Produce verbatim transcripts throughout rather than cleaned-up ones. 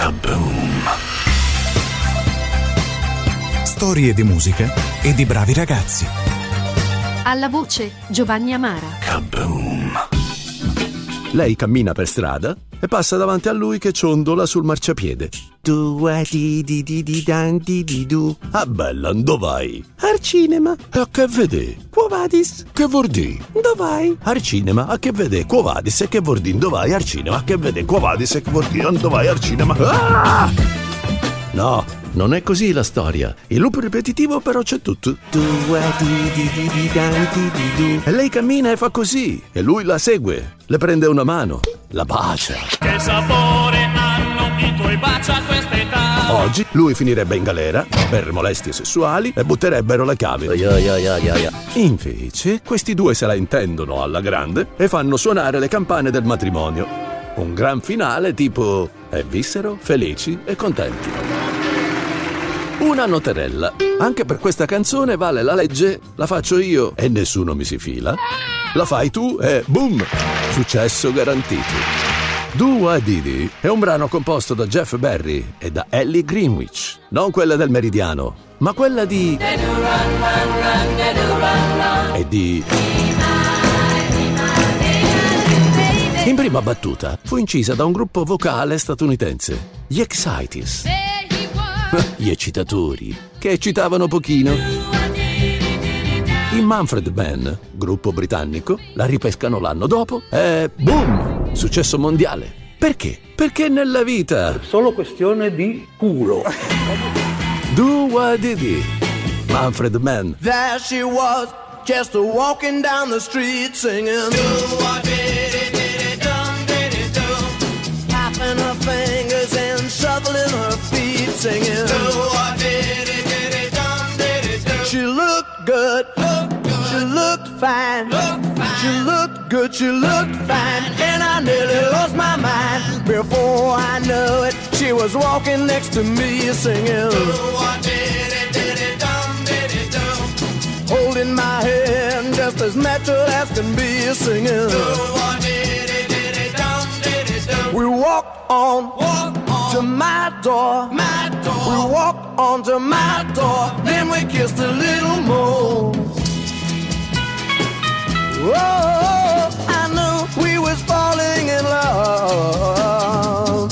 Kaboom! Storie di musica e di bravi ragazzi. Alla voce Giovanni Amara. Kaboom! Lei cammina per strada e passa davanti a lui che ciondola sul marciapiede. Tu di di di di dan di di du. Ah bella, dove vai? Al cinema. E a che vede? Quo vadis? Che vuol di? Dove vai? Al cinema. A che vede? Quo vadis? E che vuol di? Dove vai? Al cinema. A che vede? Quo vadis? E che vuol di? Dove vai? Al cinema. Ah! No, non è così la storia. Il loop ripetitivo però c'è tutto. Tu di di di di dan di di du. E lei cammina e fa così. E lui la segue. Le prende una mano. La bacia. Che sapore hanno i tuoi baci a quest'età? Oggi lui finirebbe in galera per molestie sessuali e butterebbero le chiavi. Yeah, yeah, yeah, yeah, yeah. Invece questi due se la intendono alla grande e fanno suonare le campane del matrimonio. Un gran finale tipo e vissero felici e contenti. Una noterella. Anche per questa canzone vale la legge la faccio io e nessuno mi si fila. La fai tu e boom! Successo garantito. Do Wah Dee Dee è un brano composto da Jeff Berry e da Ellie Greenwich. Non quella del Meridiano, ma quella di... e di... In prima battuta fu incisa da un gruppo vocale statunitense, gli Exciters. Gli eccitatori, che eccitavano pochino. I Manfred Mann, gruppo britannico, la ripescano l'anno dopo e boom! Successo mondiale. Perché? Perché nella vita... Solo questione di culo. Do Wah Dee Dee, Manfred Mann. There she was, just walking down the street singing. Do Wah Dee Dee Dee Dum Dee Dee Dum. Tapping her fingers and shuffling her feet singing. Do Wah Dee Dee Dee Dum Dee Dee Dum. She looked good. She looked fine. Look fine. She looked good, she looked fine. And I nearly lost my mind. Before I knew it, she was walking next to me singing. Holding my hand just as natural as can be singing. We walked on, walk on to my door. my door. We walked on to my door. Then we kissed a little more. Oh, I knew we was falling in love.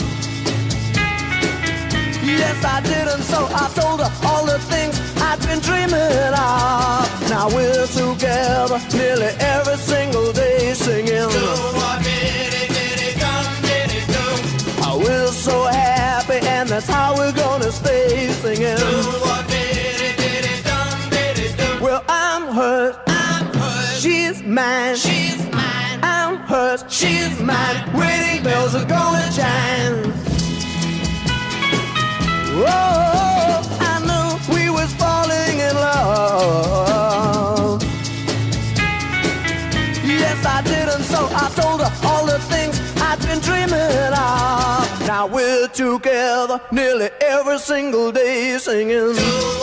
Yes, I did, and so I told her all the things I'd been dreaming of. Now we're together nearly every single day singing. Oh, we're so happy, and that's how we're gonna stay singing. Well, I'm hurt. She's mine, she's mine. I'm hers, she's mine. Wedding bells are gonna chime. Oh, I knew we was falling in love. Yes, I did, and so I told her all the things I'd been dreaming of. Now we're together nearly every single day singing.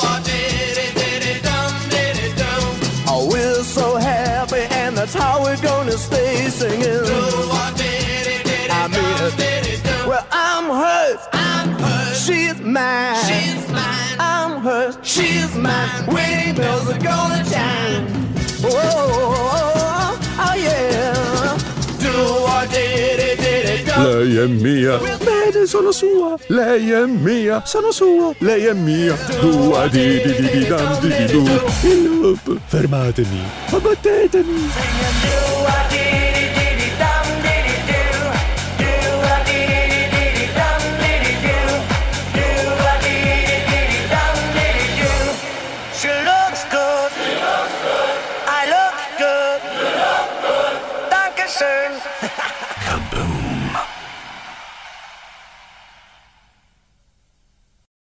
Oh, we're so happy, and that's how we're gonna stay singing. I mean, well, I'm hers, I'm hers. She's mine, she's mine. I'm hers, she's mine. Wedding bells are gonna chime. Oh, oh, oh yeah. Do what did it, did it go. Lei è mia, bene, sono sua. Lei è mia, sono sua. Lei è mia. Do Wah Dee Dee Dee Dum Dee Dee Du. Il loop, fermatemi, abbattetemi. Do what did